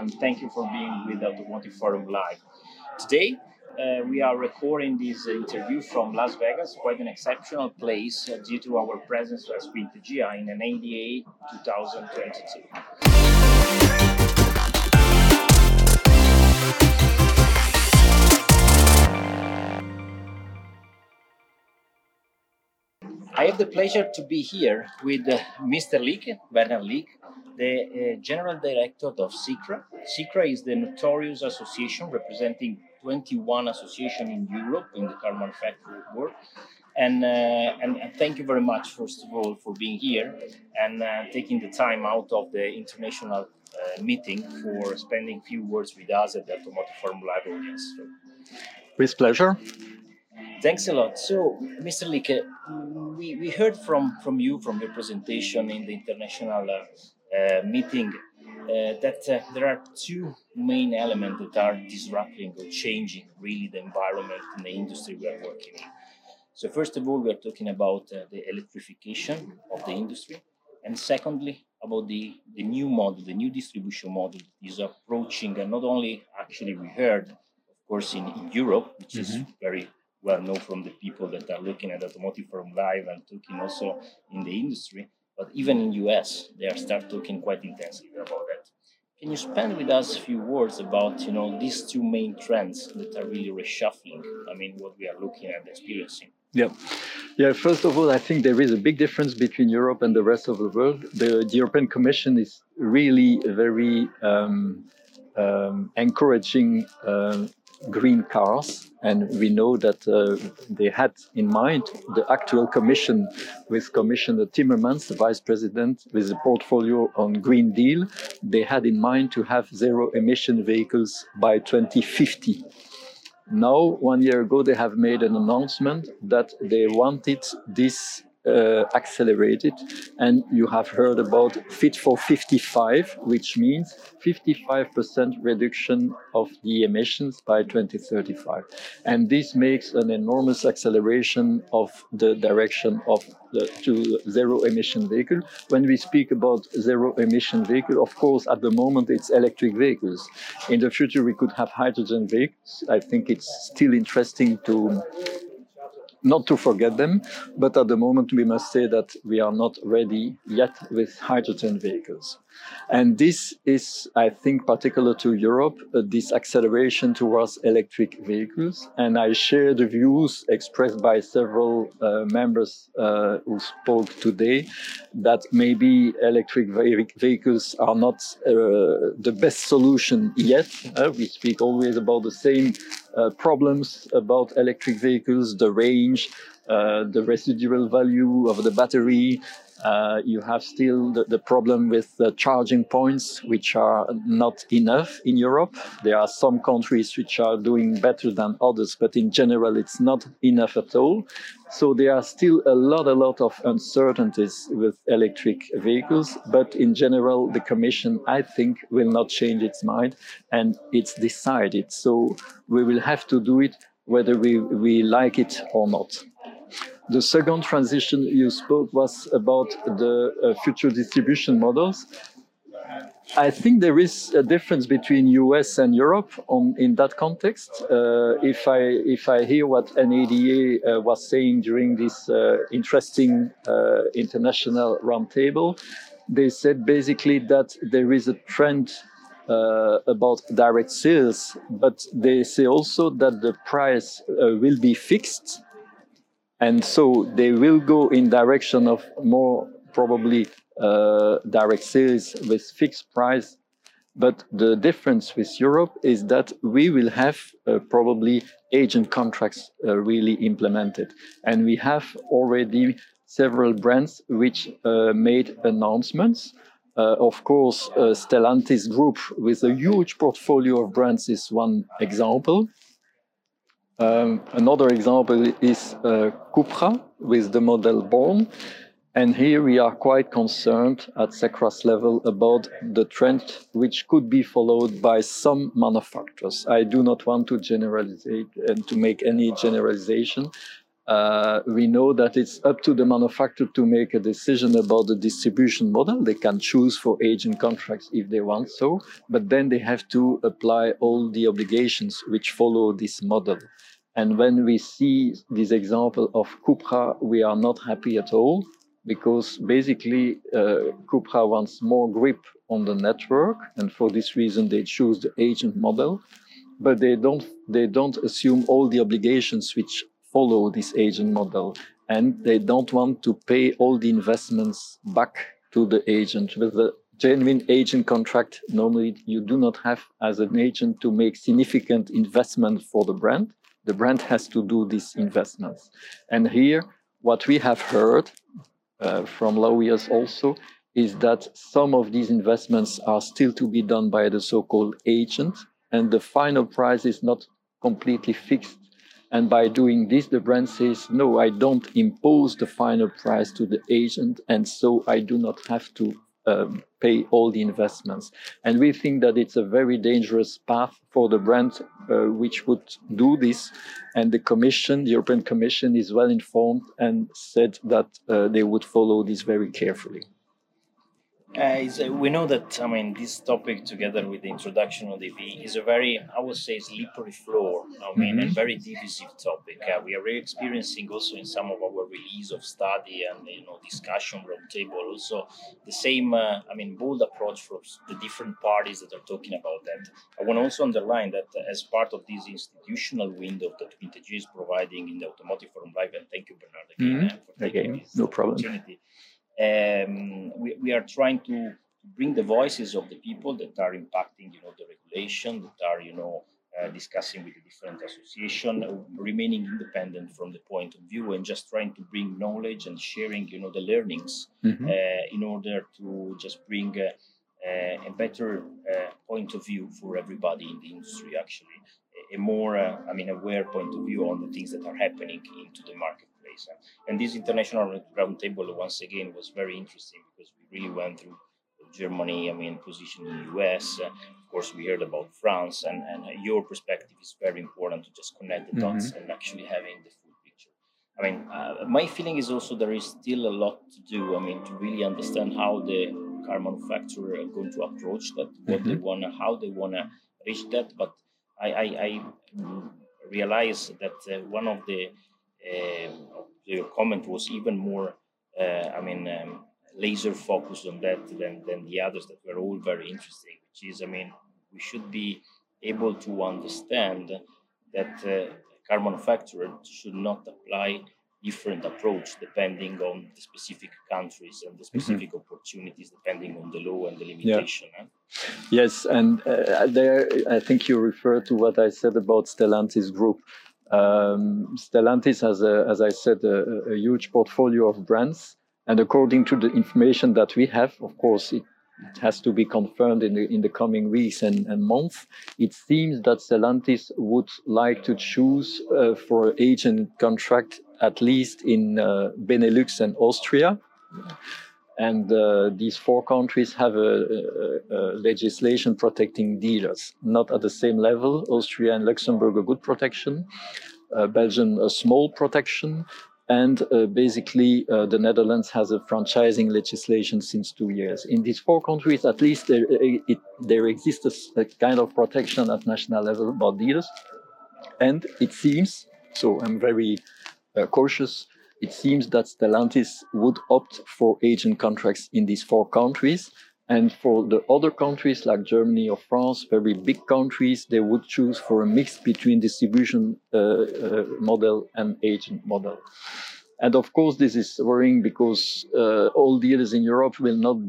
and thank you for being with Automotive Forum Live. Today, we are recording this interview from Las Vegas, quite an exceptional place due to our presence as Quintegia in an ADA 2022. I have the pleasure to be here with Mr. Leek, Werner Leek, the General Director of CICRA. CICRA is the notorious association representing 21 associations in Europe in the car manufacturing world. And thank you very much, first of all, for being here and taking the time out of the international meeting for spending a few words with us at the Automotive Forum Live audience. With pleasure. Thanks a lot. So, Mr. Leek, we heard from you, from your presentation in the international meeting, that there are two main elements that are disrupting or changing really the environment and the industry we are working in. So, first of all, we are talking about the electrification of the industry, and secondly, about the new model, the new distribution model is approaching, and not only actually we heard, of course, in Europe, which is very well known from the people that are looking at Automotive Forum Live and talking also in the industry, but even in US, they are start talking quite intensively about that. Can you spend with us a few words about these two main trends that are really reshuffling? I mean, what we are looking at experiencing. Yeah. First of all, I think there is a big difference between Europe and the rest of the world. The European Commission is really very encouraging green cars, and we know that they had in mind the actual commission with Commissioner Timmermans, the vice president, with a portfolio on Green Deal. They had in mind to have zero emission vehicles by 2050. Now, 1 year ago, they have made an announcement that they wanted this accelerated, and you have heard about Fit for 55, which means 55% reduction of the emissions by 2035. And this makes an enormous acceleration of the direction of to zero emission vehicle. When we speak about zero emission vehicle, of course, at the moment it's electric vehicles. In the future, we could have hydrogen vehicles. I think it's still interesting to not to forget them, but at the moment we must say that we are not ready yet with hydrogen vehicles. And this is, I think, particular to Europe, this acceleration towards electric vehicles. And I share the views expressed by several members who spoke today, that maybe electric vehicles are not the best solution yet. We speak always about the same problems about electric vehicles, the range, the residual value of the battery. You have still the problem with the charging points, which are not enough in Europe. There are some countries which are doing better than others, but in general, it's not enough at all. So there are still a lot of uncertainties with electric vehicles, but in general, the Commission, I think, will not change its mind, and it's decided. So we will have to do it whether we like it or not. The second transition you spoke was about the future distribution models. I think there is a difference between US and Europe in that context. If I hear what NADA was saying during this interesting international roundtable, they said basically that there is a trend about direct sales, but they say also that the price will be fixed. And so they will go in direction of more probably direct sales with fixed price. But the difference with Europe is that we will have probably agent contracts really implemented. And we have already several brands which made announcements. Of course, Stellantis Group with a huge portfolio of brands is one example. Another example is Cupra with the model Born. And here we are quite concerned at CICRA's level about the trend which could be followed by some manufacturers. I do not want to generalize and to make any generalization. We know that it's up to the manufacturer to make a decision about the distribution model. They can choose for agent contracts if they want so, but then they have to apply all the obligations which follow this model. And when we see this example of Cupra, we are not happy at all, because basically Cupra wants more grip on the network, and for this reason they choose the agent model, but they don't assume all the obligations which follow this agent model, and they don't want to pay all the investments back to the agent. With the genuine agent contract, normally you do not have as an agent to make significant investment for the brand. The brand has to do these investments. And here, what we have heard from lawyers also is that some of these investments are still to be done by the so-called agent, and the final price is not completely fixed. And by doing this, the brand says, no, I don't impose the final price to the agent, and so I do not have to pay all the investments. And we think that it's a very dangerous path for the brand which would do this. And the Commission, the European Commission, is well informed and said that they would follow this very carefully. We know that, I mean, this topic, together with the introduction of the EV, is a very, I would say, slippery floor, and very divisive topic. We are really experiencing also in some of our release of study and, discussion roundtable, also the same, bold approach from the different parties that are talking about that. I want to also underline that as part of this institutional window that Vintage is providing in the Automotive Forum Live, and thank you, Bernard, again, for taking this opportunity. We are trying to bring the voices of the people that are impacting, the regulation, that are, discussing with the different associations, remaining independent from the point of view, and just trying to bring knowledge and sharing, the learnings in order to just bring a better point of view for everybody in the industry, actually, a more, aware point of view on the things that are happening into the marketplace. And this international roundtable, once again, was very interesting because we really went through Germany, position in the US. Of course, we heard about France, and your perspective is very important to just connect the dots and actually having the full picture. My feeling is also there is still a lot to do, to really understand how the car manufacturer are going to approach that, what they want to, how they want to reach that. But I realize that one of your comment was even more, laser focused on that than the others that were all very interesting, which is, we should be able to understand that car manufacturer should not apply different approach depending on the specific countries and the specific opportunities depending on the law and the limitation. Yes, and there I think you refer to what I said about Stellantis Group. Stellantis has, as I said, a huge portfolio of brands, and according to the information that we have, of course, it has to be confirmed in the coming weeks and months. It seems that Stellantis would like to choose for agent contract at least in Benelux and Austria. And these four countries have a legislation protecting dealers, not at the same level. Austria and Luxembourg a good protection, Belgium a small protection, and basically the Netherlands has a franchising legislation since 2 years. In these four countries, at least there exists a kind of protection at national level about dealers. And it seems, so I'm very cautious, it seems that Stellantis would opt for agent contracts in these four countries. And for the other countries like Germany or France, very big countries, they would choose for a mix between distribution model and agent model. And of course, this is worrying because all dealers in Europe will not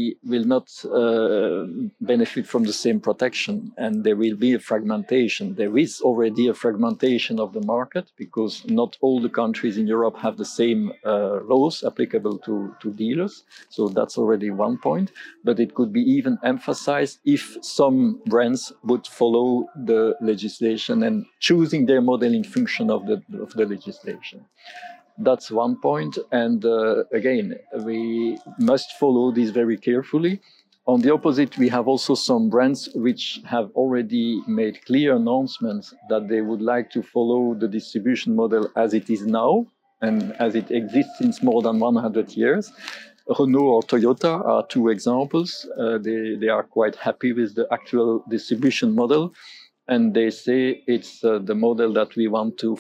benefit from the same protection, and there will be a fragmentation. There is already a fragmentation of the market because not all the countries in Europe have the same laws applicable to dealers. So that's already one point. But it could be even emphasized if some brands would follow the legislation and choosing their model in function of the legislation. That's one point. And again, we must follow this very carefully. On the opposite, we have also some brands which have already made clear announcements that they would like to follow the distribution model as it is now and as it exists since more than 100 years. Renault or Toyota are two examples. They are quite happy with the actual distribution model, and they say it's the model that we want to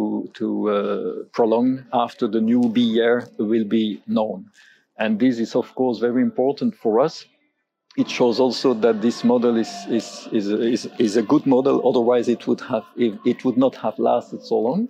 prolong after the new B year will be known. And this is, of course, very important for us. It shows also that this model is a good model. Otherwise, it would not have lasted so long.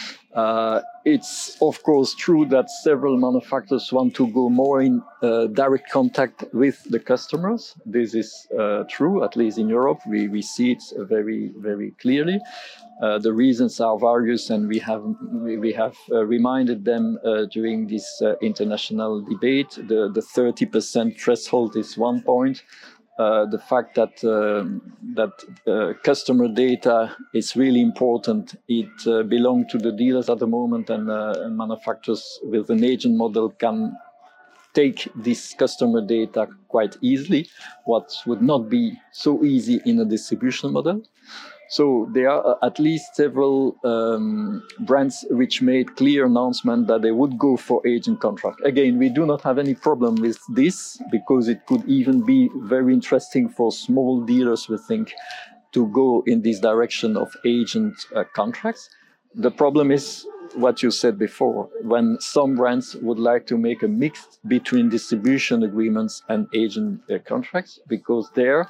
It's of course true that several manufacturers want to go more in direct contact with the customers. This is true, at least in Europe. We see it very, very clearly. The reasons are various, and we have reminded them during this international debate. The 30% threshold is one point. The fact that customer data is really important. It belongs to the dealers at the moment, and manufacturers with an agent model can take this customer data quite easily, what would not be so easy in a distribution model. So there are at least several brands which made clear announcement that they would go for agent contract. Again, we do not have any problem with this, because it could even be very interesting for small dealers, we think, to go in this direction of agent contracts. The problem is what you said before, when some brands would like to make a mix between distribution agreements and agent contracts, because there,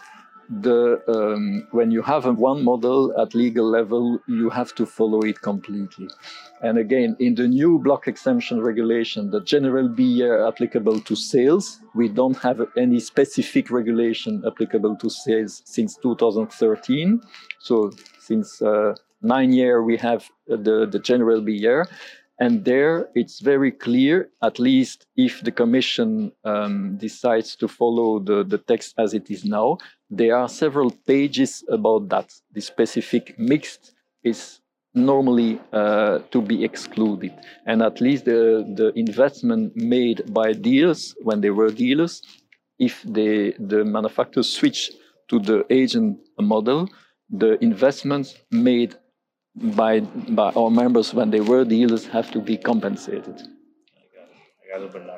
when you have one model at legal level, you have to follow it completely. And again, in the new block exemption regulation, the general BR applicable to sales, we don't have any specific regulation applicable to sales since 2013. So since 9 years, we have the general BR. And there it's very clear, at least if the Commission decides to follow the text as it is now, there are several pages about that. The specific mixed is normally to be excluded. And at least the investment made by dealers, when they were dealers, if the manufacturers switch to the agent model, the investments made by our members when they were dealers have to be compensated. I got it, Bernard.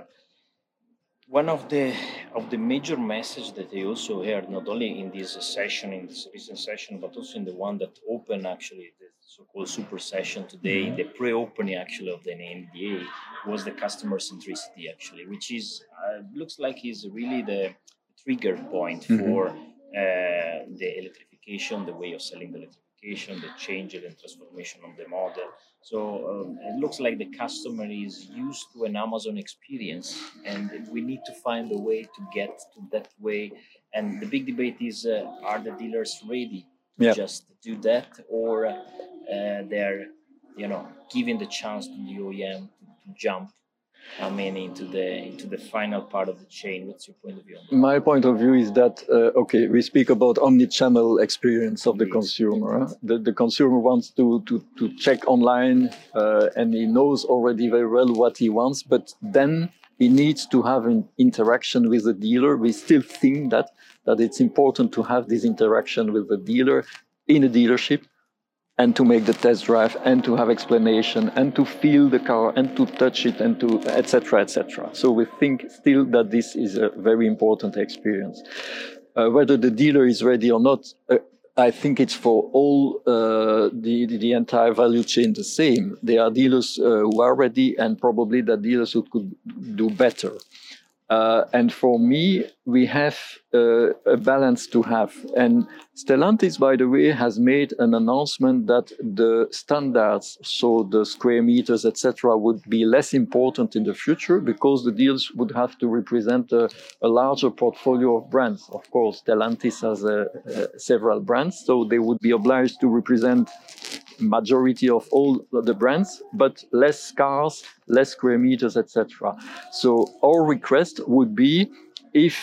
One of the major messages that I also heard, not only in this session, in this recent session, but also in the one that opened actually the so-called super session today, the pre-opening actually of the NDA, was the customer centricity actually, which is looks like is really the trigger point for the electrification, the way of selling the electrification, the change and transformation of the model. So it looks like the customer is used to an Amazon experience, and we need to find a way to get to that way. And the big debate is, are the dealers ready to just do that, or they're, giving the chance to the OEM to jump, into the final part of the chain? What's your point of view on that? My point of view is that, we speak about omni-channel experience of the consumer. The consumer wants to check online, and he knows already very well what he wants, but then he needs to have an interaction with the dealer. We still think that it's important to have this interaction with the dealer in a dealership, and to make the test drive, and to have explanation, and to feel the car, and to touch it, and to etc., etc. So we think still that this is a very important experience. Whether the dealer is ready or not, I think it's for all the entire value chain the same. There are dealers who are ready, and probably the dealers who could do better. And for me, we have a balance to have. And Stellantis, by the way, has made an announcement that the standards, so the square meters, etc., would be less important in the future, because the dealers would have to represent a larger portfolio of brands. Of course, Stellantis has several brands, so they would be obliged to represent majority of all the brands, but less cars, less square meters, etc. So our request would be, if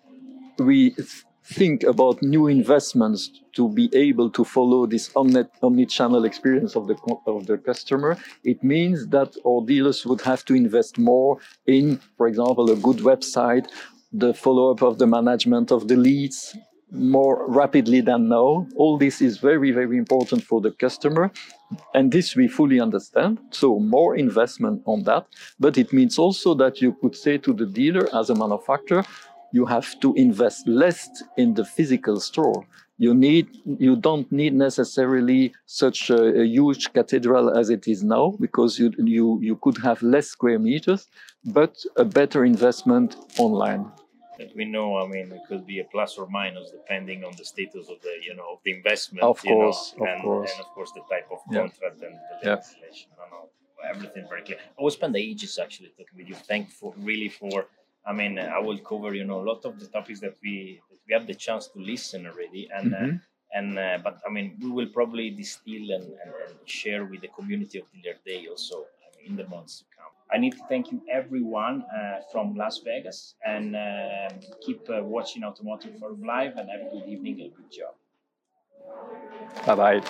we think about new investments to be able to follow this omni-channel experience of the customer, it means that our dealers would have to invest more in, for example, a good website, the follow-up of the management of the leads more rapidly than now. All this is very, very important for the customer. And this we fully understand. So more investment on that. But it means also that you could say to the dealer as a manufacturer, you have to invest less in the physical store. You don't need necessarily such a huge cathedral as it is now, because you could have less square meters, but a better investment online. We know, I mean, it could be a plus or minus depending on the status of the, of the investment, of course. and of course the type of contract and the legislation. Everything very clear. I will spend ages actually talking with you. Thankful really for. I mean, I will cover a lot of the topics that we have the chance to listen already, but I mean, we will probably distill and share with the community of Dealer Day also in the months to come. I need to thank you everyone from Las Vegas, and keep watching Automotive Forum Live, and have a good evening and good job. Bye bye.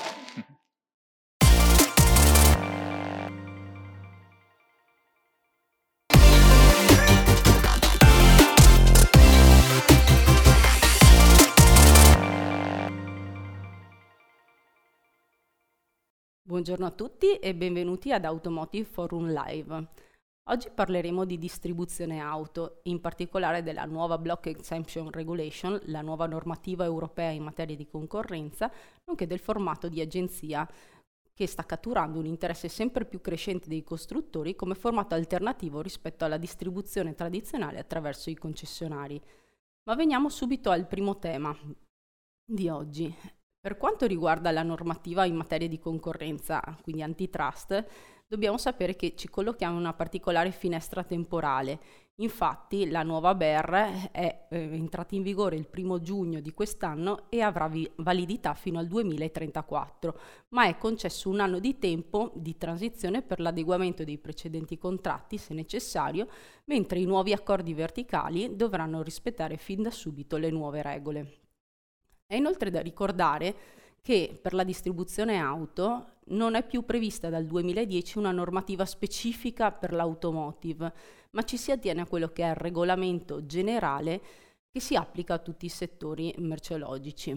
Buongiorno a tutti e benvenuti ad Automotive Forum Live. Oggi parleremo di distribuzione auto, in particolare della nuova Block Exemption Regulation, la nuova normativa europea in materia di concorrenza, nonché del formato di agenzia che sta catturando un interesse sempre più crescente dei costruttori come formato alternativo rispetto alla distribuzione tradizionale attraverso i concessionari. Ma veniamo subito al primo tema di oggi. Per quanto riguarda la normativa in materia di concorrenza, quindi antitrust, dobbiamo sapere che ci collochiamo in una particolare finestra temporale. Infatti la nuova BER è entrata in vigore il 1 giugno di quest'anno e avrà validità fino al 2034, ma è concesso un anno di tempo di transizione per l'adeguamento dei precedenti contratti, se necessario, mentre i nuovi accordi verticali dovranno rispettare fin da subito le nuove regole. È inoltre da ricordare che per la distribuzione auto non è più prevista dal 2010 una normativa specifica per l'automotive, ma ci si attiene a quello che è il regolamento generale che si applica a tutti i settori merceologici.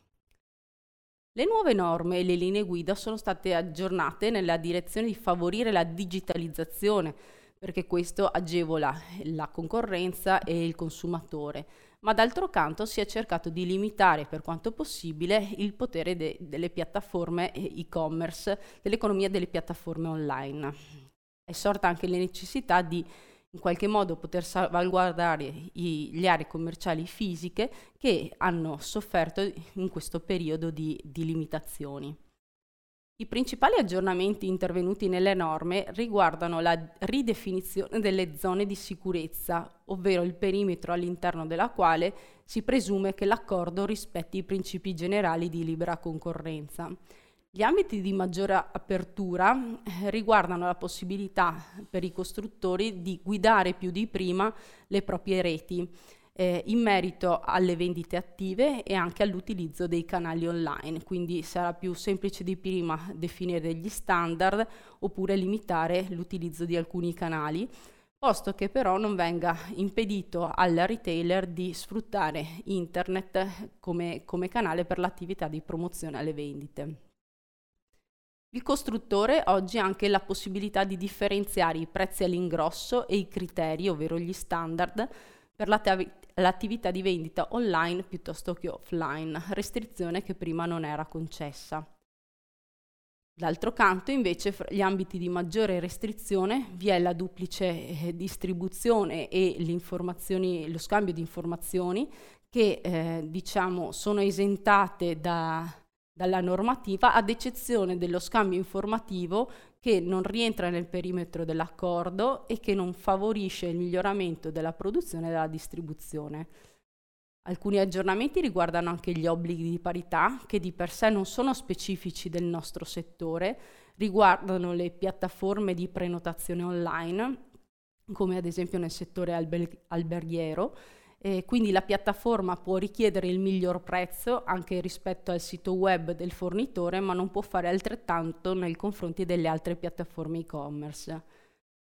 Le nuove norme e le linee guida sono state aggiornate nella direzione di favorire la digitalizzazione, perché questo agevola la concorrenza e il consumatore, ma d'altro canto si è cercato di limitare per quanto possibile il potere delle piattaforme e-commerce, dell'economia delle piattaforme online. È sorta anche la necessità di in qualche modo poter salvaguardare le aree commerciali fisiche che hanno sofferto in questo periodo di limitazioni. I principali aggiornamenti intervenuti nelle norme riguardano la ridefinizione delle zone di sicurezza, ovvero il perimetro all'interno della quale si presume che l'accordo rispetti i principi generali di libera concorrenza. Gli ambiti di maggiore apertura riguardano la possibilità per i costruttori di guidare più di prima le proprie reti, in merito alle vendite attive e anche all'utilizzo dei canali online, quindi sarà più semplice di prima definire degli standard oppure limitare l'utilizzo di alcuni canali, posto che però non venga impedito al retailer di sfruttare internet come canale per l'attività di promozione alle vendite. Il costruttore oggi ha anche la possibilità di differenziare i prezzi all'ingrosso e i criteri, ovvero gli standard, per l'attività di vendita online piuttosto che offline, restrizione che prima non era concessa. D'altro canto, invece, fra gli ambiti di maggiore restrizione vi è la duplice distribuzione e lo scambio di informazioni che sono esentate dalla normativa, ad eccezione dello scambio informativo che non rientra nel perimetro dell'accordo e che non favorisce il miglioramento della produzione e della distribuzione. Alcuni aggiornamenti riguardano anche gli obblighi di parità, che di per sé non sono specifici del nostro settore, riguardano le piattaforme di prenotazione online, come ad esempio nel settore alberghiero. Quindi la piattaforma può richiedere il miglior prezzo anche rispetto al sito web del fornitore, ma non può fare altrettanto nei confronti delle altre piattaforme e-commerce.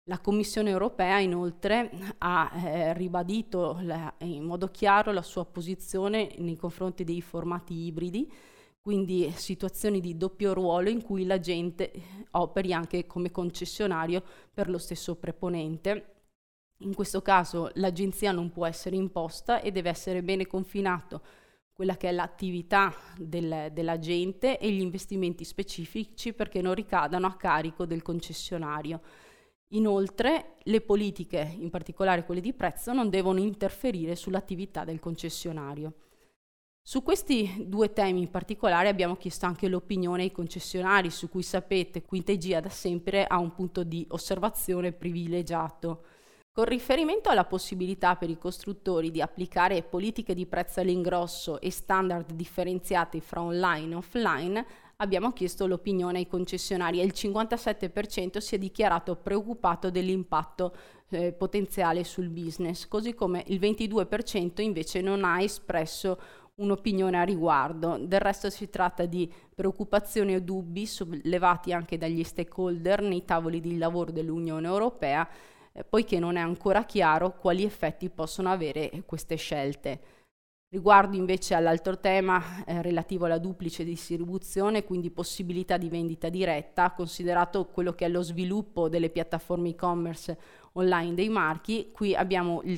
La Commissione europea inoltre ha ribadito in modo chiaro la sua posizione nei confronti dei formati ibridi, quindi situazioni di doppio ruolo in cui l'agente operi anche come concessionario per lo stesso preponente. In questo caso l'agenzia non può essere imposta e deve essere bene confinato quella che è l'attività dell'agente e gli investimenti specifici perché non ricadano a carico del concessionario. Inoltre, le politiche, in particolare quelle di prezzo, non devono interferire sull'attività del concessionario. Su questi due temi in particolare abbiamo chiesto anche l'opinione ai concessionari, su cui sapete Quintegia da sempre ha un punto di osservazione privilegiato. Con riferimento alla possibilità per i costruttori di applicare politiche di prezzo all'ingrosso e standard differenziati fra online e offline, abbiamo chiesto l'opinione ai concessionari e il 57% si è dichiarato preoccupato dell'impatto potenziale sul business, così come il 22% invece non ha espresso un'opinione a riguardo. Del resto si tratta di preoccupazioni o dubbi sollevati anche dagli stakeholder nei tavoli di lavoro dell'Unione Europea, poiché non è ancora chiaro quali effetti possono avere queste scelte. Riguardo invece all'altro tema relativo alla duplice distribuzione, quindi possibilità di vendita diretta, considerato quello che è lo sviluppo delle piattaforme e-commerce online dei marchi, qui abbiamo il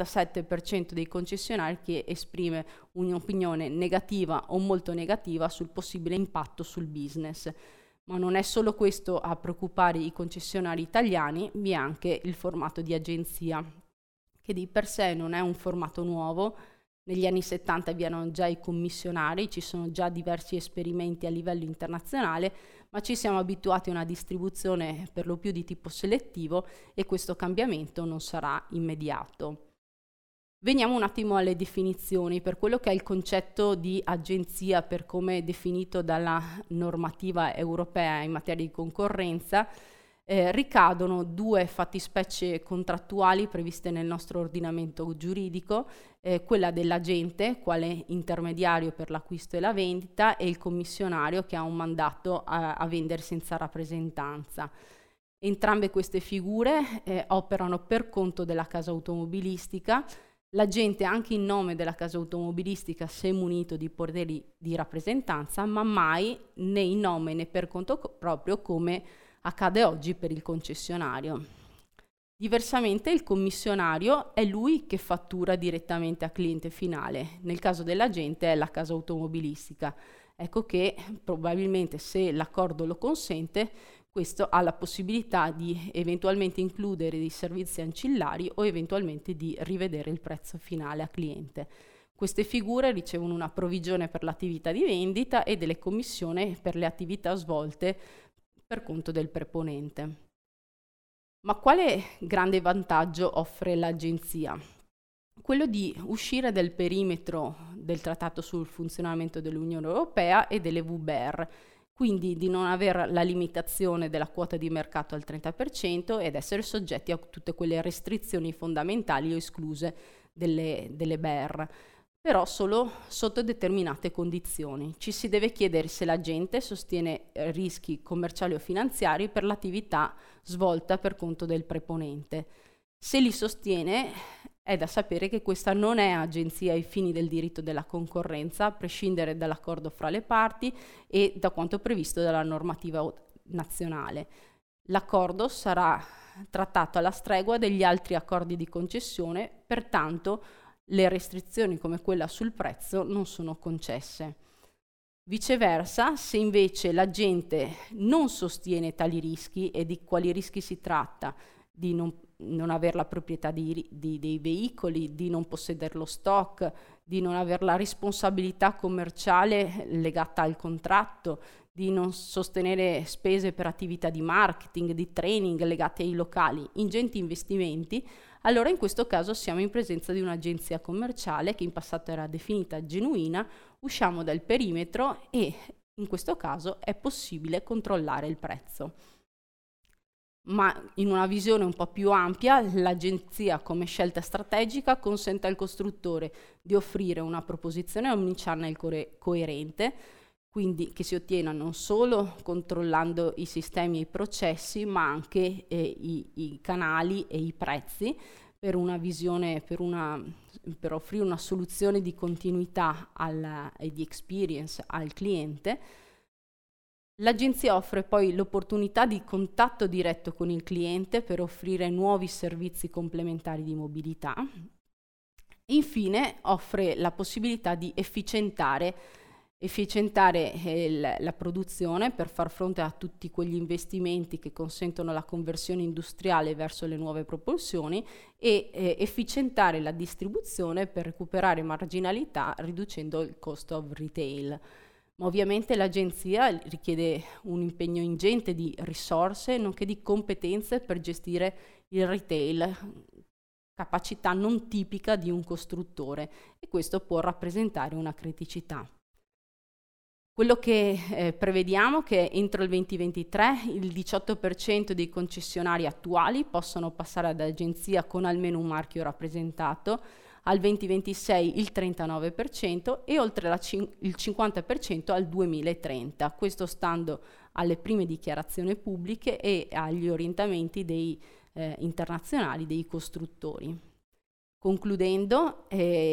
77% dei concessionari che esprime un'opinione negativa o molto negativa sul possibile impatto sul business. Ma non è solo questo a preoccupare i concessionari italiani, vi è anche il formato di agenzia, che di per sé non è un formato nuovo. Negli anni 70 vi erano già i commissionari, ci sono già diversi esperimenti a livello internazionale, ma ci siamo abituati a una distribuzione per lo più di tipo selettivo e questo cambiamento non sarà immediato. Veniamo un attimo alle definizioni. Per quello che è il concetto di agenzia, per come è definito dalla normativa europea in materia di concorrenza, ricadono due fattispecie contrattuali previste nel nostro ordinamento giuridico, quella dell'agente, quale intermediario per l'acquisto e la vendita, e il commissionario che ha un mandato a vendere senza rappresentanza. Entrambe queste figure operano per conto della casa automobilistica. L'agente, anche in nome della casa automobilistica, se è munito di poteri di rappresentanza, ma mai né in nome né per conto proprio, come accade oggi per il concessionario. Diversamente il commissionario è lui che fattura direttamente al cliente finale, nel caso dell'agente è la casa automobilistica. Ecco che probabilmente, se l'accordo lo consente, questo ha la possibilità di eventualmente includere dei servizi ancillari o eventualmente di rivedere il prezzo finale a cliente. Queste figure ricevono una provvigione per l'attività di vendita e delle commissioni per le attività svolte per conto del preponente. Ma quale grande vantaggio offre l'agenzia? Quello di uscire dal perimetro del Trattato sul funzionamento dell'Unione Europea e delle VBER, quindi di non avere la limitazione della quota di mercato al 30% ed essere soggetti a tutte quelle restrizioni fondamentali o escluse delle BER, però solo sotto determinate condizioni. Ci si deve chiedere se l'agente sostiene rischi commerciali o finanziari per l'attività svolta per conto del preponente. Se li sostiene, è da sapere che questa non è agenzia ai fini del diritto della concorrenza, a prescindere dall'accordo fra le parti e da quanto previsto dalla normativa nazionale. L'accordo sarà trattato alla stregua degli altri accordi di concessione, pertanto le restrizioni come quella sul prezzo non sono concesse. Viceversa, se invece l'agente non sostiene tali rischi, e di quali rischi si tratta? Di non avere la proprietà dei veicoli, di non possedere lo stock, di non avere la responsabilità commerciale legata al contratto, di non sostenere spese per attività di marketing, di training legate ai locali, ingenti investimenti, allora in questo caso siamo in presenza di un'agenzia commerciale che in passato era definita genuina, usciamo dal perimetro e in questo caso è possibile controllare il prezzo. Ma in una visione un po' più ampia, l'agenzia come scelta strategica consente al costruttore di offrire una proposizione omnichannel coerente, quindi che si ottiene non solo controllando i sistemi e i processi, ma anche i canali e i prezzi per una visione, per offrire una soluzione di continuità e di experience al cliente. L'agenzia offre poi l'opportunità di contatto diretto con il cliente per offrire nuovi servizi complementari di mobilità. Infine offre la possibilità di efficientare la produzione per far fronte a tutti quegli investimenti che consentono la conversione industriale verso le nuove propulsioni e efficientare la distribuzione per recuperare marginalità riducendo il cost of retail. Ma ovviamente l'agenzia richiede un impegno ingente di risorse nonché di competenze per gestire il retail, capacità non tipica di un costruttore, e questo può rappresentare una criticità. Quello che prevediamo è che entro il 2023 il 18% dei concessionari attuali possono passare ad agenzia con almeno un marchio rappresentato, al 2026 il 39% e oltre il 50% al 2030, questo stando alle prime dichiarazioni pubbliche e agli orientamenti internazionali dei costruttori. Concludendo,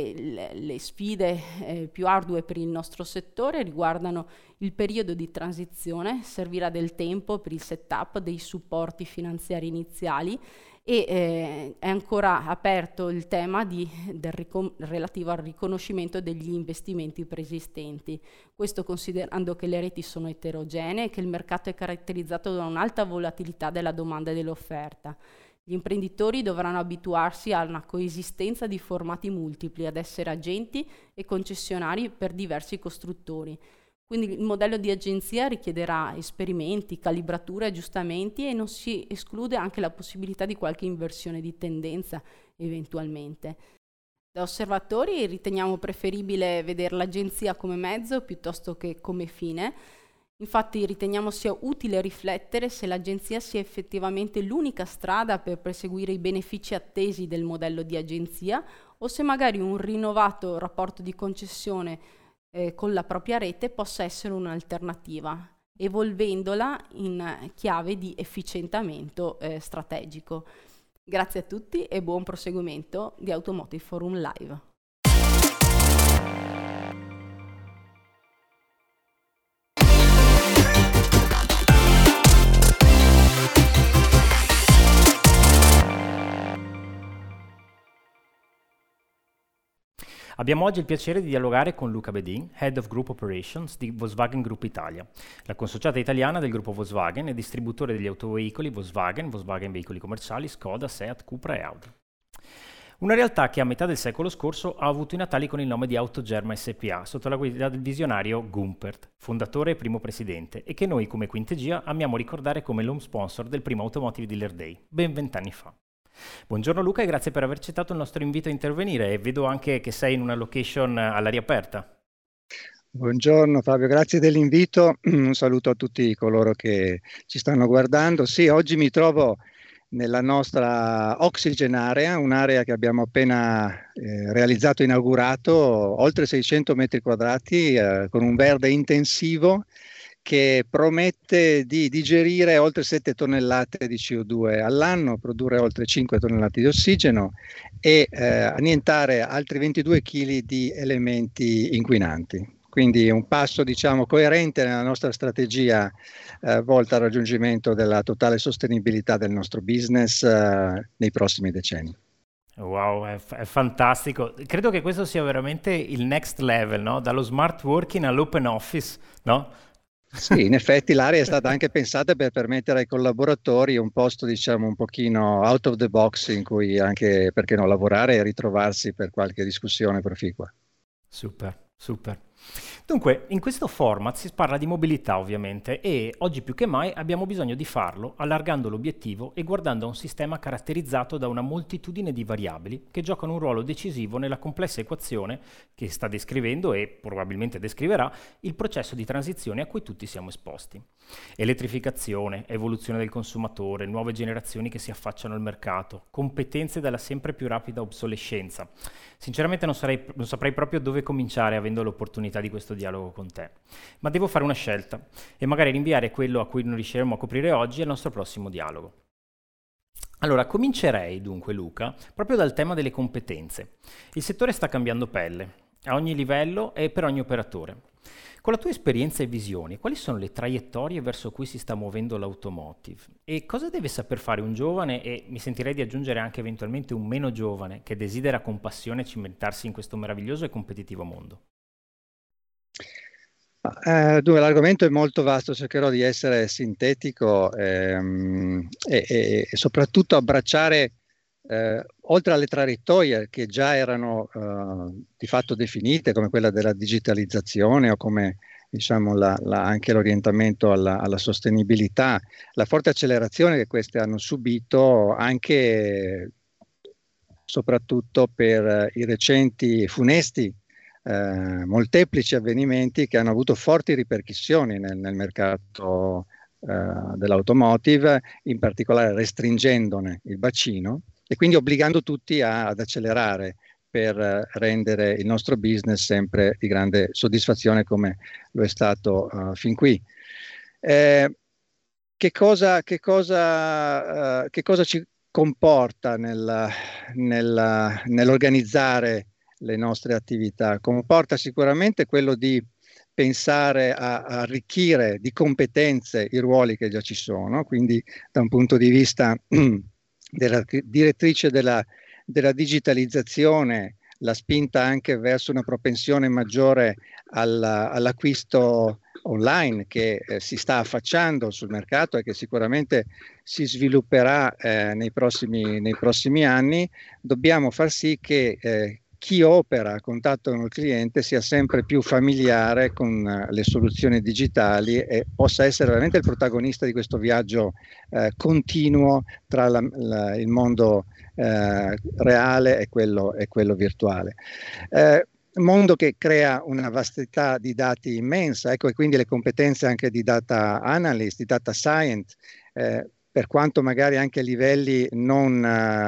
le sfide più ardue per il nostro settore riguardano il periodo di transizione, servirà del tempo per il setup dei supporti finanziari iniziali e è ancora aperto il tema relativo al riconoscimento degli investimenti preesistenti. Questo considerando che le reti sono eterogenee e che il mercato è caratterizzato da un'alta volatilità della domanda e dell'offerta. Gli imprenditori dovranno abituarsi a una coesistenza di formati multipli, ad essere agenti e concessionari per diversi costruttori. Quindi il modello di agenzia richiederà esperimenti, calibrature, aggiustamenti e non si esclude anche la possibilità di qualche inversione di tendenza eventualmente. Da osservatori riteniamo preferibile vedere l'agenzia come mezzo piuttosto che come fine. Infatti riteniamo sia utile riflettere se l'agenzia sia effettivamente l'unica strada per perseguire i benefici attesi del modello di agenzia o se magari un rinnovato rapporto di concessione con la propria rete possa essere un'alternativa, evolvendola in chiave di efficientamento strategico. Grazie a tutti e buon proseguimento di Automotive Forum Live. Abbiamo oggi il piacere di dialogare con Luca Bedin, Head of Group Operations di Volkswagen Group Italia, la consociata italiana del gruppo Volkswagen e distributore degli autoveicoli Volkswagen, Volkswagen Veicoli Commerciali, Skoda, Seat, Cupra e Audi. Una realtà che a metà del secolo scorso ha avuto i natali con il nome di Autogerma SPA, sotto la guida del visionario Gumpert, fondatore e primo presidente, e che noi come Quintegia amiamo ricordare come l'home sponsor del primo Automotive Dealer Day, ben 20 anni fa. Buongiorno Luca e grazie per aver accettato il nostro invito a intervenire, e vedo anche che sei in una location all'aria aperta. Buongiorno Fabio, grazie dell'invito, un saluto a tutti coloro che ci stanno guardando. Sì, oggi mi trovo nella nostra Oxygen Area, un'area che abbiamo appena realizzato e inaugurato, oltre 600 metri quadrati con un verde intensivo che promette di digerire oltre 7 tonnellate di CO2 all'anno, produrre oltre 5 tonnellate di ossigeno e annientare altri 22 kg di elementi inquinanti. Quindi un passo, diciamo, coerente nella nostra strategia volta al raggiungimento della totale sostenibilità del nostro business nei prossimi decenni. Wow, è fantastico. Credo che questo sia veramente il next level, no? Dallo smart working all'open office, no? Sì, in effetti l'area è stata anche pensata per permettere ai collaboratori un posto, diciamo, un pochino out of the box in cui anche, perché no, lavorare e ritrovarsi per qualche discussione proficua. Super, super. Dunque, in questo format si parla di mobilità ovviamente e oggi più che mai abbiamo bisogno di farlo allargando l'obiettivo e guardando a un sistema caratterizzato da una moltitudine di variabili che giocano un ruolo decisivo nella complessa equazione che sta descrivendo e probabilmente descriverà il processo di transizione a cui tutti siamo esposti. Elettrificazione, evoluzione del consumatore, nuove generazioni che si affacciano al mercato, competenze dalla sempre più rapida obsolescenza. Sinceramente non saprei proprio dove cominciare avendo l'opportunità l'opportunità di questo dialogo con te. Ma devo fare una scelta e magari rinviare quello a cui non riusciremo a coprire oggi al nostro prossimo dialogo. Allora, comincerei dunque, Luca, proprio dal tema delle competenze. Il settore sta cambiando pelle, a ogni livello e per ogni operatore. Con la tua esperienza e visioni, quali sono le traiettorie verso cui si sta muovendo l'automotive? E cosa deve saper fare un giovane, e mi sentirei di aggiungere anche eventualmente un meno giovane, che desidera con passione cimentarsi in questo meraviglioso e competitivo mondo? Dunque, l'argomento è molto vasto, cercherò di essere sintetico e soprattutto abbracciare, oltre alle traiettorie che già erano di fatto definite, come quella della digitalizzazione o come diciamo anche l'orientamento alla sostenibilità, la forte accelerazione che queste hanno subito anche soprattutto per i recenti funesti molteplici avvenimenti che hanno avuto forti ripercussioni nel mercato dell'automotive, in particolare restringendone il bacino e quindi obbligando tutti ad accelerare per rendere il nostro business sempre di grande soddisfazione come lo è stato fin qui. Che cosa ci comporta nell'organizzare le nostre attività? Comporta sicuramente quello di pensare a arricchire di competenze i ruoli che già ci sono, quindi da un punto di vista della direttrice della digitalizzazione, la spinta anche verso una propensione maggiore all'acquisto online che si sta affacciando sul mercato e che sicuramente si svilupperà nei prossimi anni. Dobbiamo far sì che chi opera a contatto con il cliente sia sempre più familiare con le soluzioni digitali e possa essere veramente il protagonista di questo viaggio continuo tra il mondo reale e quello virtuale. Mondo che crea una vastità di dati immensa, ecco, e quindi le competenze anche di data analyst, di data science, per quanto magari anche a livelli non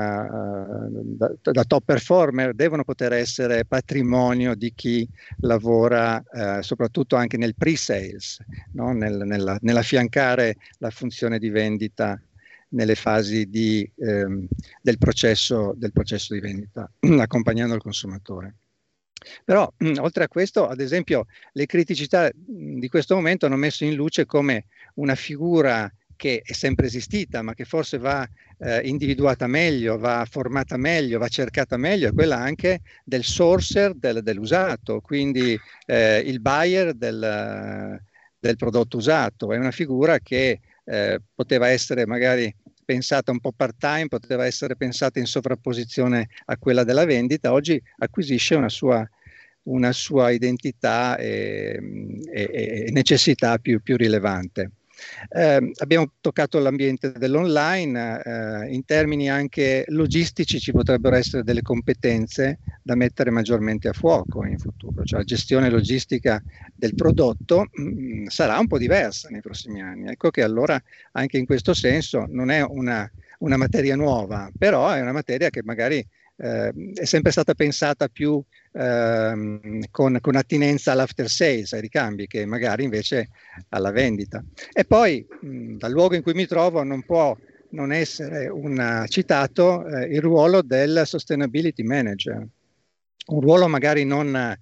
da top performer, devono poter essere patrimonio di chi lavora soprattutto anche nel pre-sales, no? Nell'affiancare la funzione di vendita nelle fasi del processo di vendita, accompagnando il consumatore. Però, oltre a questo, ad esempio, le criticità di questo momento hanno messo in luce come una figura che è sempre esistita, ma che forse va individuata meglio, va formata meglio, va cercata meglio, è quella anche del sourcer dell'usato, quindi il buyer del prodotto usato. È una figura che poteva essere magari pensata un po' part-time, poteva essere pensata in sovrapposizione a quella della vendita, oggi acquisisce una sua identità e necessità più rilevante. Abbiamo toccato l'ambiente dell'online, in termini anche logistici ci potrebbero essere delle competenze da mettere maggiormente a fuoco in futuro, cioè la gestione logistica del prodotto sarà un po' diversa nei prossimi anni. Ecco che allora anche in questo senso non è una materia nuova, però è una materia che magari è sempre stata pensata più con attinenza all'after sales, ai ricambi, che magari invece alla vendita. E poi dal luogo in cui mi trovo non può non essere citato il ruolo del sustainability manager, un ruolo magari non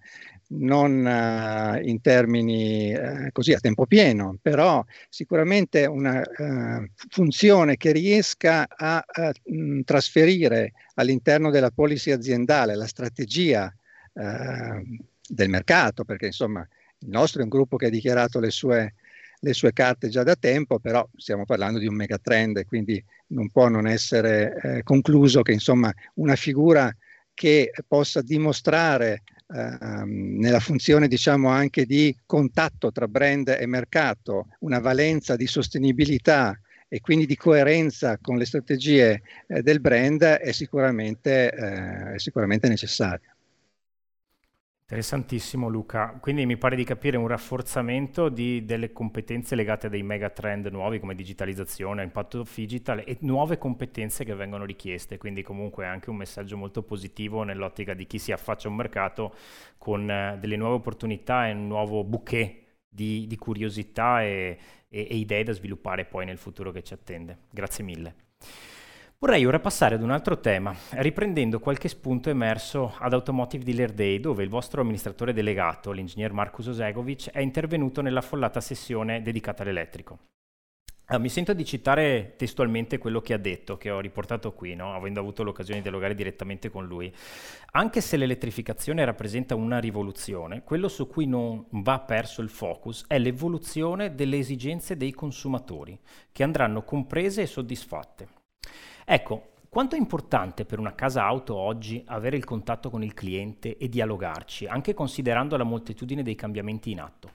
in termini così a tempo pieno, però sicuramente una funzione che riesca a trasferire all'interno della policy aziendale la strategia del mercato, perché insomma il nostro è un gruppo che ha dichiarato le sue carte già da tempo, però stiamo parlando di un megatrend e quindi non può non essere concluso che insomma una figura che possa dimostrare nella funzione diciamo anche di contatto tra brand e mercato una valenza di sostenibilità e quindi di coerenza con le strategie del brand è sicuramente necessaria. Interessantissimo Luca, quindi mi pare di capire un rafforzamento delle competenze legate a dei megatrend nuovi come digitalizzazione, impatto digital e nuove competenze che vengono richieste, quindi comunque anche un messaggio molto positivo nell'ottica di chi si affaccia a un mercato con delle nuove opportunità e un nuovo bouquet di curiosità e idee da sviluppare poi nel futuro che ci attende. Grazie mille. Vorrei ora passare ad un altro tema, riprendendo qualche spunto emerso ad Automotive Dealer Day, dove il vostro amministratore delegato, l'ingegner Markus Osegovic, è intervenuto nell'affollata sessione dedicata all'elettrico. Mi sento di citare testualmente quello che ha detto, che ho riportato qui, no? Avendo avuto l'occasione di dialogare direttamente con lui. Anche se l'elettrificazione rappresenta una rivoluzione, quello su cui non va perso il focus è l'evoluzione delle esigenze dei consumatori, che andranno comprese e soddisfatte. Ecco, quanto è importante per una casa auto oggi avere il contatto con il cliente e dialogarci, anche considerando la moltitudine dei cambiamenti in atto?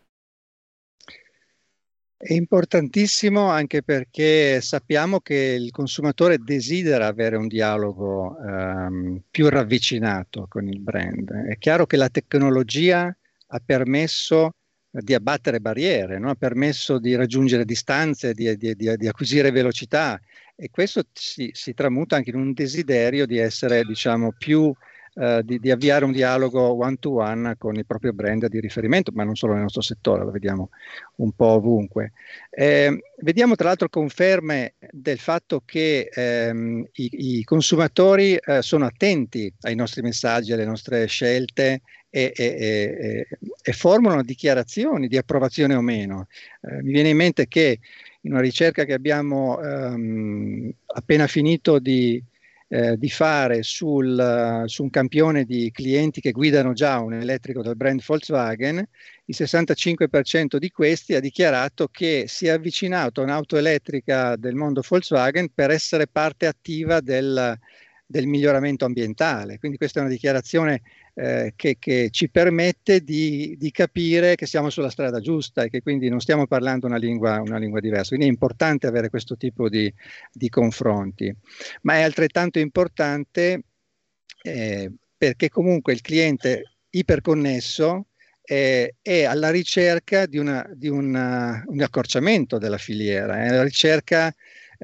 È importantissimo anche perché sappiamo che il consumatore desidera avere un dialogo più ravvicinato con il brand. È chiaro che la tecnologia ha permesso di abbattere barriere, no? Ha permesso di raggiungere distanze, di acquisire velocità, e questo si tramuta anche in un desiderio di essere, diciamo, più di avviare un dialogo one to one con il proprio brand di riferimento, ma non solo nel nostro settore, lo vediamo un po' ovunque. Vediamo tra l'altro conferme del fatto che i consumatori sono attenti ai nostri messaggi, alle nostre scelte e formulano dichiarazioni di approvazione o meno. Mi viene in mente che in una ricerca che abbiamo appena finito di fare su un campione di clienti che guidano già un elettrico del brand Volkswagen, il 65% di questi ha dichiarato che si è avvicinato a un'auto elettrica del mondo Volkswagen per essere parte attiva del miglioramento ambientale. Quindi questa è una dichiarazione che ci permette di capire che siamo sulla strada giusta e che quindi non stiamo parlando una lingua diversa. Quindi è importante avere questo tipo di confronti, ma è altrettanto importante perché comunque il cliente iperconnesso è alla ricerca di un accorciamento della filiera, è alla ricerca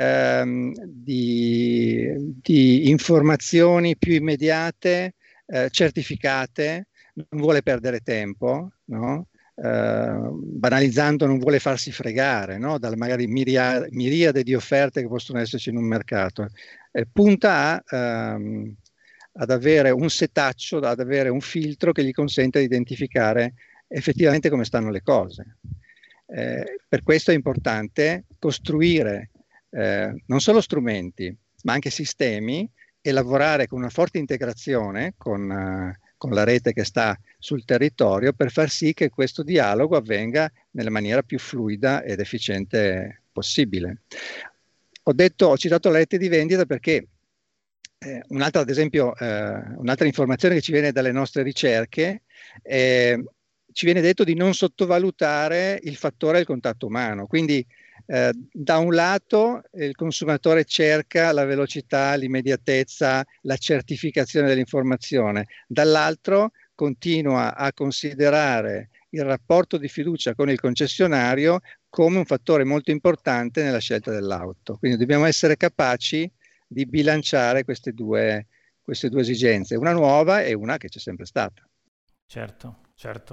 di informazioni più immediate, certificate, non vuole perdere tempo, no? Banalizzando, non vuole farsi fregare, no? Dalle magari miriade di offerte che possono esserci in un mercato. Punta ad avere un setaccio, ad avere un filtro che gli consente di identificare effettivamente come stanno le cose. Per questo è importante costruire non solo strumenti, ma anche sistemi, e lavorare con una forte integrazione con la rete che sta sul territorio per far sì che questo dialogo avvenga nella maniera più fluida ed efficiente possibile. Ho citato la rete di vendita perché un'altra, ad esempio, un'altra informazione che ci viene dalle nostre ricerche, ci viene detto di non sottovalutare il fattore del contatto umano. Quindi da un lato il consumatore cerca la velocità, l'immediatezza, la certificazione dell'informazione, dall'altro continua a considerare il rapporto di fiducia con il concessionario come un fattore molto importante nella scelta dell'auto. Quindi dobbiamo essere capaci di bilanciare queste due esigenze, una nuova e una che c'è sempre stata. Certo.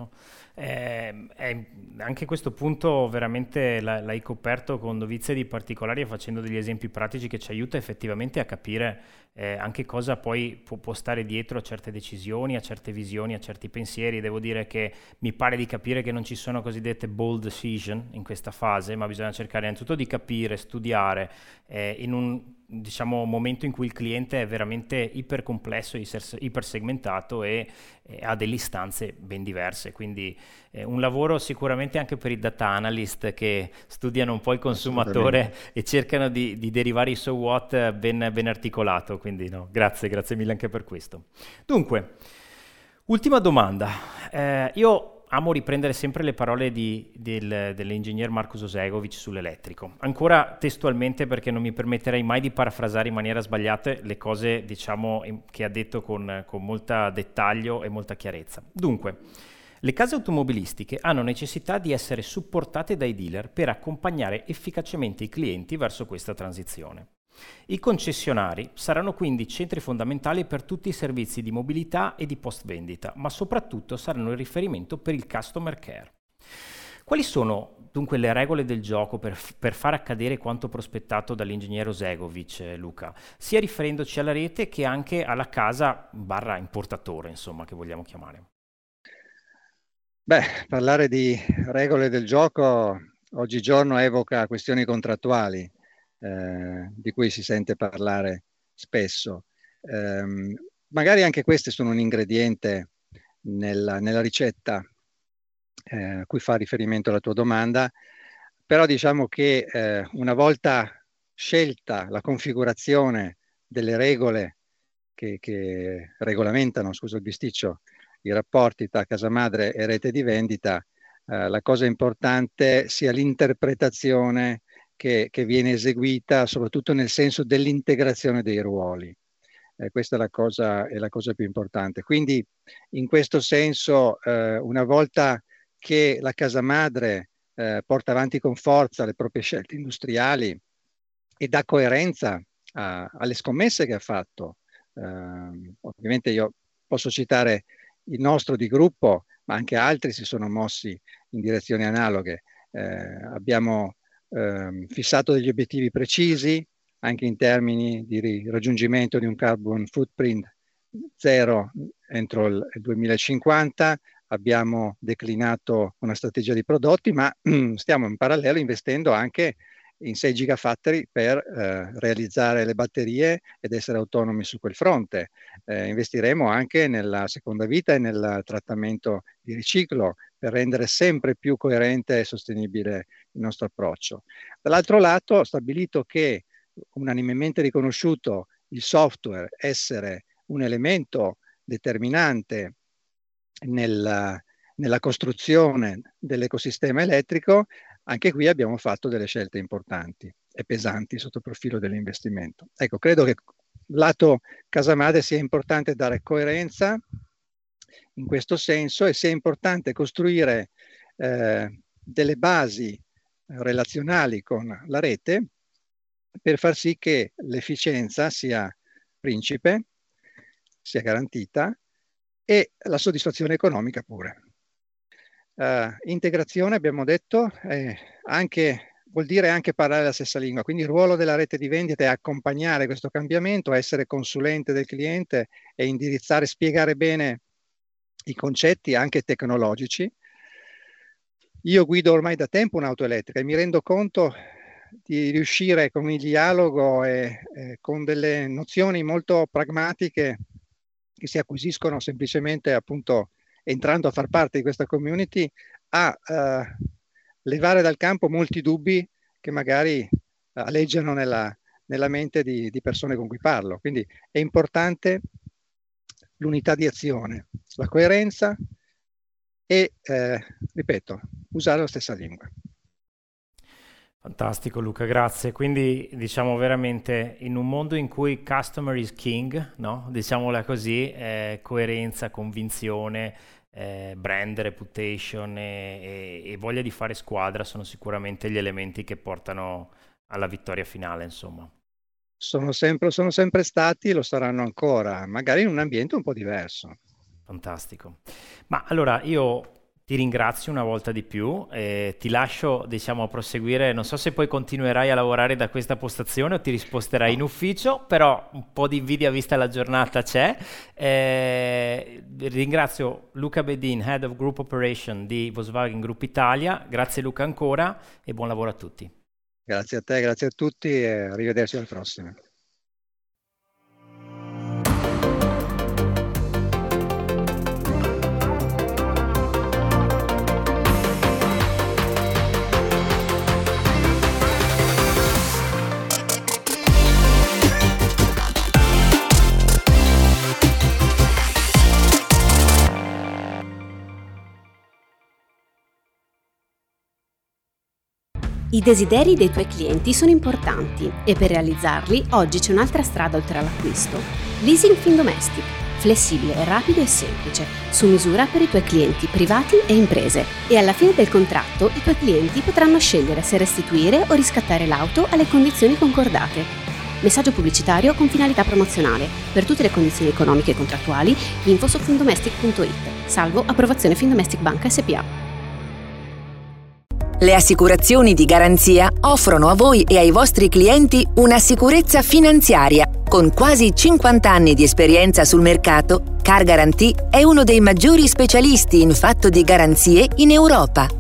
Anche questo punto veramente l'hai coperto con dovizie di particolari e facendo degli esempi pratici che ci aiuta effettivamente a capire anche cosa poi può stare dietro a certe decisioni, a certe visioni, a certi pensieri. Devo dire che mi pare di capire che non ci sono cosiddette bold decision in questa fase, ma bisogna cercare innanzitutto di capire, studiare in un momento in cui il cliente è veramente ipercomplesso, ipersegmentato e ha delle istanze ben diverse, quindi un lavoro sicuramente anche per i data analyst che studiano un po' il consumatore e cercano di derivare i so what ben articolato, quindi no, grazie mille anche per questo. Dunque, ultima domanda, io amo riprendere sempre le parole dell'ingegner Markus Osegovic sull'elettrico. Ancora testualmente, perché non mi permetterei mai di parafrasare in maniera sbagliata le cose, diciamo, che ha detto con molta dettaglio e molta chiarezza. Dunque, le case automobilistiche hanno necessità di essere supportate dai dealer per accompagnare efficacemente i clienti verso questa transizione. I concessionari saranno quindi centri fondamentali per tutti i servizi di mobilità e di post-vendita, ma soprattutto saranno il riferimento per il customer care. Quali sono dunque le regole del gioco per far accadere quanto prospettato dall'ingegnere Osegovic, Luca, sia riferendoci alla rete che anche alla casa / importatore, insomma, che vogliamo chiamare? Parlare di regole del gioco oggigiorno evoca questioni contrattuali, di cui si sente parlare spesso. Magari anche queste sono un ingrediente nella ricetta a cui fa riferimento la tua domanda, però diciamo che una volta scelta la configurazione delle regole che regolamentano, scusa il bisticcio, i rapporti tra casa madre e rete di vendita, la cosa importante sia l'interpretazione che viene eseguita, soprattutto nel senso dell'integrazione dei ruoli. Questa è la cosa più importante. Quindi in questo senso, una volta che la casa madre porta avanti con forza le proprie scelte industriali e dà coerenza alle scommesse che ha fatto, ovviamente io posso citare il nostro di gruppo, ma anche altri si sono mossi in direzioni analoghe. Abbiamo fissato degli obiettivi precisi, anche in termini di raggiungimento di un carbon footprint zero entro il 2050. Abbiamo declinato una strategia di prodotti, ma stiamo in parallelo investendo anche in 6 gigafactory per realizzare le batterie ed essere autonomi su quel fronte. Investiremo anche nella seconda vita e nel trattamento di riciclo per rendere sempre più coerente e sostenibile il nostro approccio. Dall'altro lato, ho stabilito che, unanimemente riconosciuto il software essere un elemento determinante nella costruzione dell'ecosistema elettrico, anche qui abbiamo fatto delle scelte importanti e pesanti sotto il profilo dell'investimento. Ecco, credo che lato casa madre sia importante dare coerenza in questo senso e sia importante costruire delle basi relazionali con la rete per far sì che l'efficienza sia principe, sia garantita e la soddisfazione economica pure. Integrazione, abbiamo detto, vuol dire anche parlare la stessa lingua, quindi il ruolo della rete di vendita è accompagnare questo cambiamento, essere consulente del cliente e indirizzare, spiegare bene i concetti anche tecnologici. Io guido ormai da tempo un'auto elettrica e mi rendo conto di riuscire con il dialogo e con delle nozioni molto pragmatiche che si acquisiscono semplicemente appunto entrando a far parte di questa community, a levare dal campo molti dubbi che magari aleggiano nella mente di persone con cui parlo. Quindi è importante l'unità di azione, la coerenza e, ripeto, usare la stessa lingua. Fantastico Luca, grazie. Quindi diciamo veramente in un mondo in cui customer is king, no? Diciamola così, coerenza, convinzione, brand, reputation e voglia di fare squadra sono sicuramente gli elementi che portano alla vittoria finale, insomma. Sono sempre stati, lo saranno ancora, magari in un ambiente un po' diverso. Fantastico. Ma allora io ti ringrazio una volta di più e ti lascio, diciamo, a proseguire. Non so se poi continuerai a lavorare da questa postazione o ti risposterai in ufficio, però un po' di invidia vista la giornata c'è. Ringrazio Luca Bedin, Head of Group Operation di Volkswagen Group Italia. Grazie Luca ancora e buon lavoro a tutti. Grazie a te, grazie a tutti e arrivederci al prossimo. I desideri dei tuoi clienti sono importanti e per realizzarli oggi c'è un'altra strada oltre all'acquisto. Leasing Findomestic, flessibile, rapido e semplice, su misura per i tuoi clienti privati e imprese. E alla fine del contratto i tuoi clienti potranno scegliere se restituire o riscattare l'auto alle condizioni concordate. Messaggio pubblicitario con finalità promozionale. Per tutte le condizioni economiche e contrattuali, info su findomestic.it. Salvo approvazione Findomestic Banca S.p.A. Le assicurazioni di garanzia offrono a voi e ai vostri clienti una sicurezza finanziaria. Con quasi 50 anni di esperienza sul mercato, Car Guarantee è uno dei maggiori specialisti in fatto di garanzie in Europa.